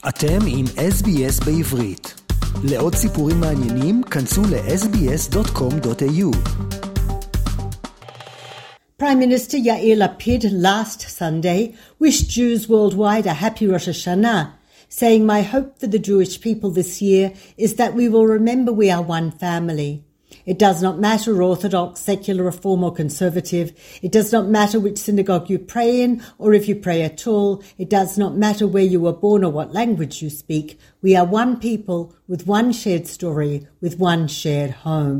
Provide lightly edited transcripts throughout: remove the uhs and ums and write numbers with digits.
אתם עם SBS בעברית. לעוד סיפורים מעניינים, כנסו ל-sbs.com.au. Prime Minister Yair Lapid last Sunday wished Jews worldwide a happy Rosh Hashanah, saying, "My hope for the Jewish people this year is that we will remember we are one family. It does not matter Orthodox, secular, Reform or Conservative. It does not matter which synagogue you pray in or if you pray at all. It does not matter where you were born or what language you speak. We are one people with one shared story, with one shared home."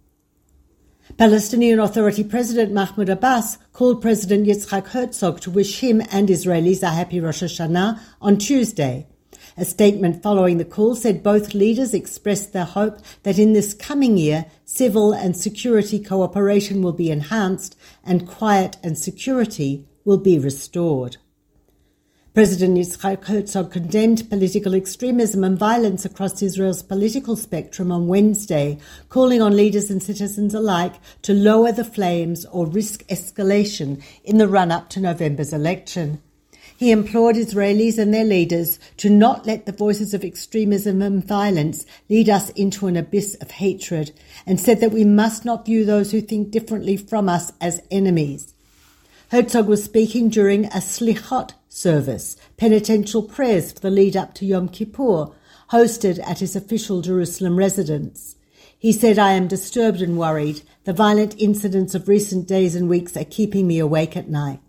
Palestinian Authority President Mahmoud Abbas called President Yitzhak Herzog to wish him and Israelis a happy Rosh Hashanah on Tuesday. A statement following the call said both leaders expressed their hope that in this coming year, civil and security cooperation will be enhanced and quiet and security will be restored. President Yitzhak Herzog condemned political extremism and violence across Israel's political spectrum on Wednesday, calling on leaders and citizens alike to lower the flames or risk escalation in the run-up to November's election. He implored Israelis and their leaders to not let the voices of extremism and violence lead us into an abyss of hatred, and said that we must not view those who think differently from us as enemies. Herzog was speaking during a slichot service, penitential prayers for the lead-up to Yom Kippur, hosted at his official Jerusalem residence. He said, "I am disturbed and worried. The violent incidents of recent days and weeks are keeping me awake at night."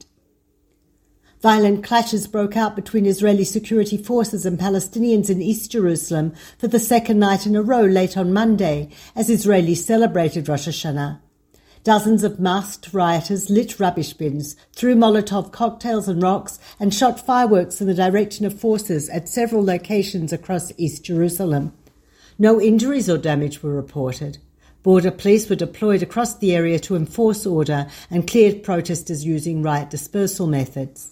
Violent clashes broke out between Israeli security forces and Palestinians in East Jerusalem for the second night in a row late on Monday, as Israelis celebrated Rosh Hashanah. Dozens of masked rioters lit rubbish bins, threw Molotov cocktails and rocks, and shot fireworks in the direction of forces at several locations across East Jerusalem. No injuries or damage were reported. Border police were deployed across the area to enforce order and cleared protesters using riot dispersal methods.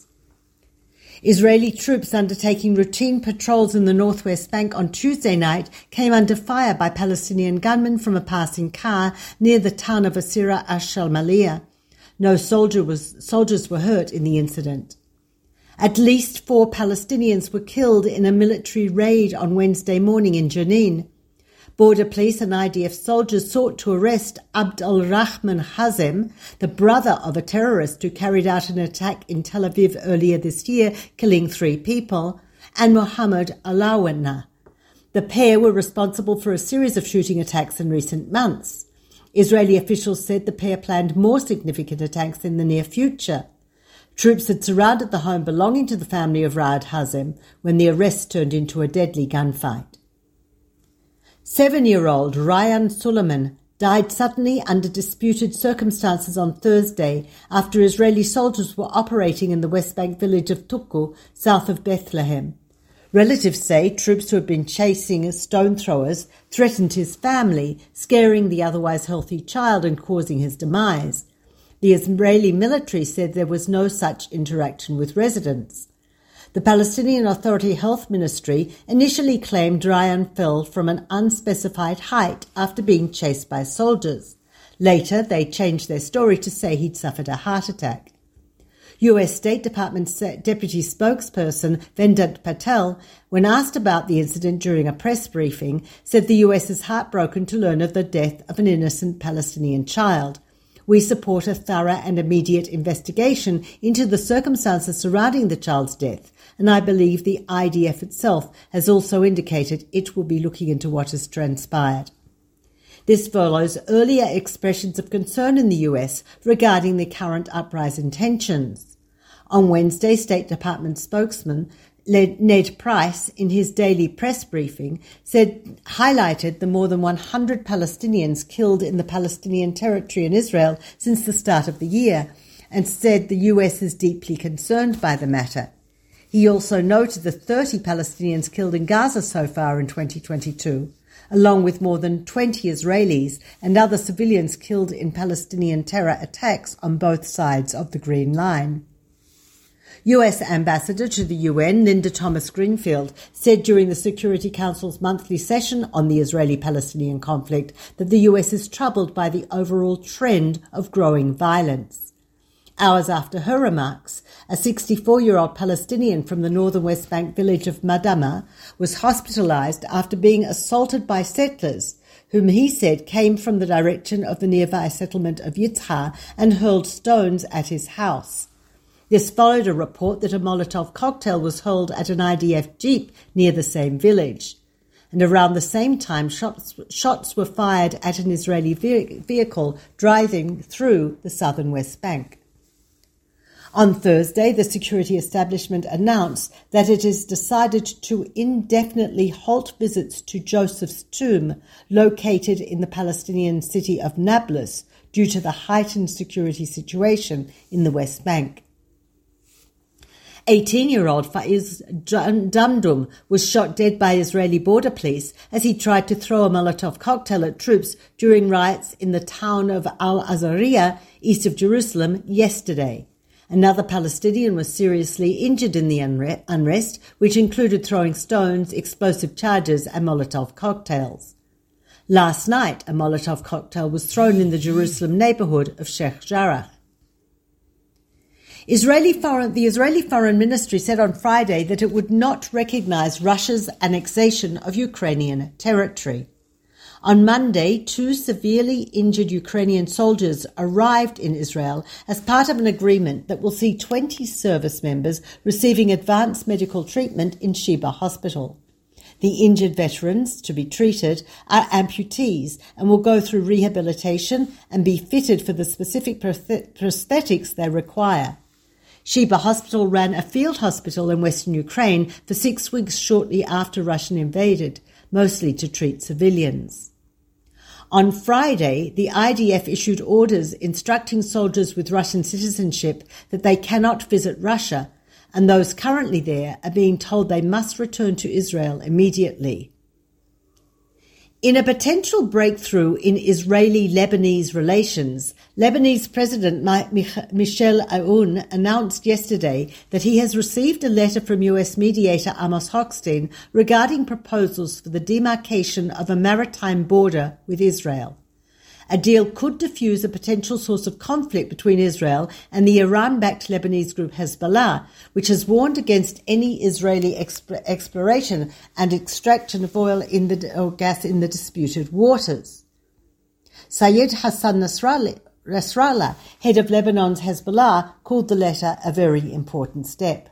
Israeli troops undertaking routine patrols in the northwest bank on Tuesday night came under fire by Palestinian gunmen from a passing car near the town of Asira Ash-Shalmaliyah. No soldiers were hurt in the incident. At least 4 Palestinians were killed in a military raid on Wednesday morning in Jenin. Border police and IDF soldiers sought to arrest Abd al-Rahman Hazem, the brother of a terrorist who carried out an attack in Tel Aviv earlier this year, killing 3 people, and Mohammed Alawana. The pair were responsible for a series of shooting attacks in recent months. Israeli officials said the pair planned more significant attacks in the near future. Troops had surrounded the home belonging to the family of Raad Hazem when the arrest turned into a deadly gunfight. 7-year-old Ryan Suleiman died suddenly under disputed circumstances on Thursday after Israeli soldiers were operating in the West Bank village of Tukku, south of Bethlehem. Relatives say troops who had been chasing stone throwers threatened his family, scaring the otherwise healthy child and causing his demise. The Israeli military said there was no such interaction with residents. The Palestinian Authority Health Ministry initially claimed Ryan fell from an unspecified height after being chased by soldiers. Later, they changed their story to say he'd suffered a heart attack. US State Department Deputy Spokesperson Vedant Patel, when asked about the incident during a press briefing, said the US is heartbroken to learn of the death of an innocent Palestinian child. "We support a thorough and immediate investigation into the circumstances surrounding the child's death, and I believe the IDF itself has also indicated it will be looking into what has transpired." This follows earlier expressions of concern in the US regarding the current uprising tensions. On Wednesday, State Department spokesman Ned Price, in his daily press briefing, highlighted the more than 100 Palestinians killed in the Palestinian territory in Israel since the start of the year, and said the US is deeply concerned by the matter. He also noted the 30 Palestinians killed in Gaza so far in 2022, along with more than 20 Israelis and other civilians killed in Palestinian terror attacks on both sides of the Green Line. US Ambassador to the UN, Linda Thomas-Greenfield, said during the Security Council's monthly session on the Israeli-Palestinian conflict that the US is troubled by the overall trend of growing violence. Hours after her remarks, a 64-year-old Palestinian from the northern West Bank village of Madama was hospitalized after being assaulted by settlers, whom he said came from the direction of the nearby settlement of Yitzhak and hurled stones at his house. This followed a report that a Molotov cocktail was hurled at an IDF jeep near the same village. And around the same time, shots were fired at an Israeli vehicle driving through the southern West Bank. On Thursday, the security establishment announced that it has decided to indefinitely halt visits to Joseph's tomb, located in the Palestinian city of Nablus, due to the heightened security situation in the West Bank. 18-year-old Faiz Damdum was shot dead by Israeli border police as he tried to throw a Molotov cocktail at troops during riots in the town of Al-Azariya, east of Jerusalem, yesterday. Another Palestinian was seriously injured in the unrest, which included throwing stones, explosive charges and Molotov cocktails. Last night, a Molotov cocktail was thrown in the Jerusalem neighborhood of Sheikh Jarrah. The Israeli Foreign Ministry said on Friday that it would not recognize Russia's annexation of Ukrainian territory. On Monday, 2 severely injured Ukrainian soldiers arrived in Israel as part of an agreement that will see 20 service members receiving advanced medical treatment in Sheba Hospital. The injured veterans to be treated are amputees and will go through rehabilitation and be fitted for the specific prosthetics they require. Sheba Hospital ran a field hospital in western Ukraine for 6 weeks shortly after Russia invaded, mostly to treat civilians. On Friday, the IDF issued orders instructing soldiers with Russian citizenship that they cannot visit Russia, and those currently there are being told they must return to Israel immediately. In a potential breakthrough in Israeli-Lebanese relations, Lebanese President Michel Aoun announced yesterday that he has received a letter from US mediator Amos Hochstein regarding proposals for the demarcation of a maritime border with Israel. A deal could diffuse a potential source of conflict between Israel and the Iran-backed Lebanese group Hezbollah, which has warned against any Israeli exploration and extraction of oil or gas in the disputed waters. Syed Hassan Nasrallah, head of Lebanon's Hezbollah, called the letter a very important step.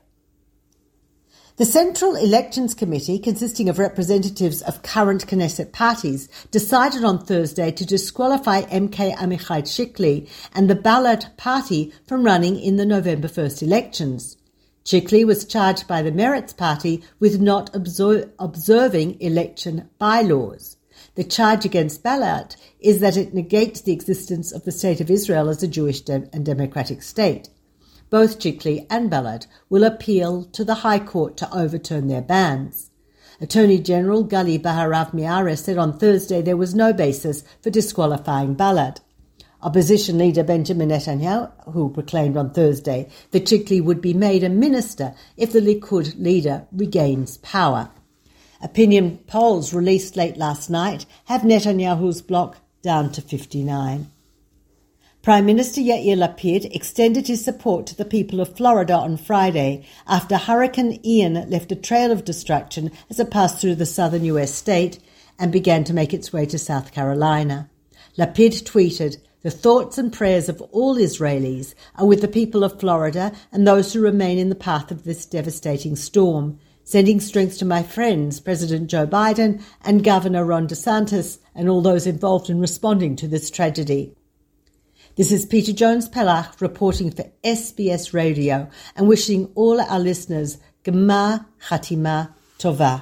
The Central Elections Committee, consisting of representatives of current Knesset parties, decided on Thursday to disqualify MK Amichai Chikli and the Balad party from running in the November 1st elections. Chikli was charged by the Meretz party with not observing election bylaws. The charge against Balad is that it negates the existence of the State of Israel as a Jewish and democratic state. Both Chikli and Balad will appeal to the High Court to overturn their bans. Attorney General Gali Baharav Miara said on Thursday there was no basis for disqualifying Balad. Opposition leader Benjamin Netanyahu proclaimed on Thursday that Chikli would be made a minister if the Likud leader regains power. Opinion polls released late last night have Netanyahu's bloc down to 59. Prime Minister Yair Lapid extended his support to the people of Florida on Friday after Hurricane Ian left a trail of destruction as it passed through the southern U.S. state and began to make its way to South Carolina. Lapid tweeted, "The thoughts and prayers of all Israelis are with the people of Florida and those who remain in the path of this devastating storm. Sending strength to my friends, President Joe Biden and Governor Ron DeSantis, and all those involved in responding to this tragedy." This is Peter Jones-Pelach reporting for SBS Radio and wishing all our listeners Gmar Chatima Tova.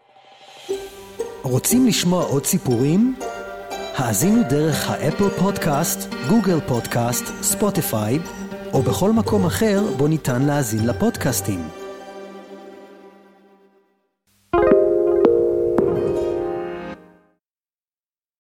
רוצים לשמוע עוד סיפורים? האזינו דרך האפל פודקאסט, גוגל פודקאסט, ספוטיפיי, או בכל מקום אחר בו ניתן להאזין לפודקאסטים.